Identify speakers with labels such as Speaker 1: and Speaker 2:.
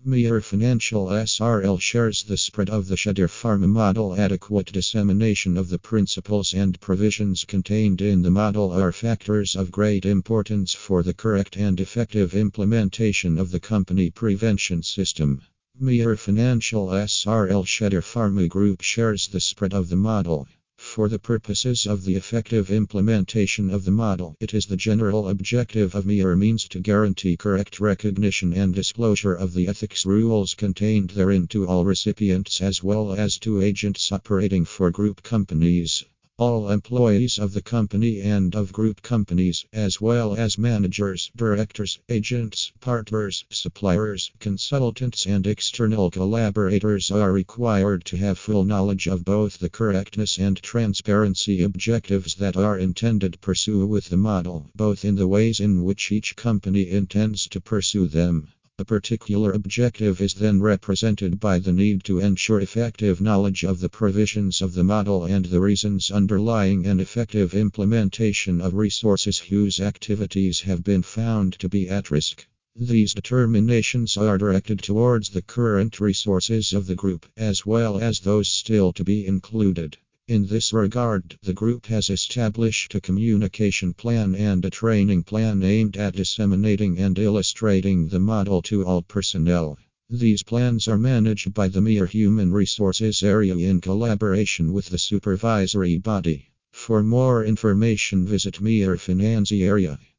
Speaker 1: Mir Financial SRL shares the spread of the Shadir Pharma model. Adequate dissemination of the principles and provisions contained in the model are factors of great importance for the correct and effective implementation of the company prevention system. Mir Financial SRL Shadir Pharma Group shares the spread of the model. For the purposes of the effective implementation of the model, it is the general objective of Mir means to guarantee correct recognition and disclosure of the ethics rules contained therein to all recipients as well as to agents operating for group companies. All employees of the company and of group companies, as well as managers, directors, agents, partners, suppliers, consultants, and external collaborators, are required to have full knowledge of both the correctness and transparency objectives that are intended to pursue with the model, both in the ways in which each company intends to pursue them. A particular objective is then represented by the need to ensure effective knowledge of the provisions of the model and the reasons underlying an effective implementation of resources whose activities have been found to be at risk. These determinations are directed towards the current resources of the group, as well as those still to be included. In this regard, the group has established a communication plan and a training plan aimed at disseminating and illustrating the model to all personnel. These plans are managed by the Mir Human Resources Area in collaboration with the supervisory body. For more information, visit Mir Finance Area.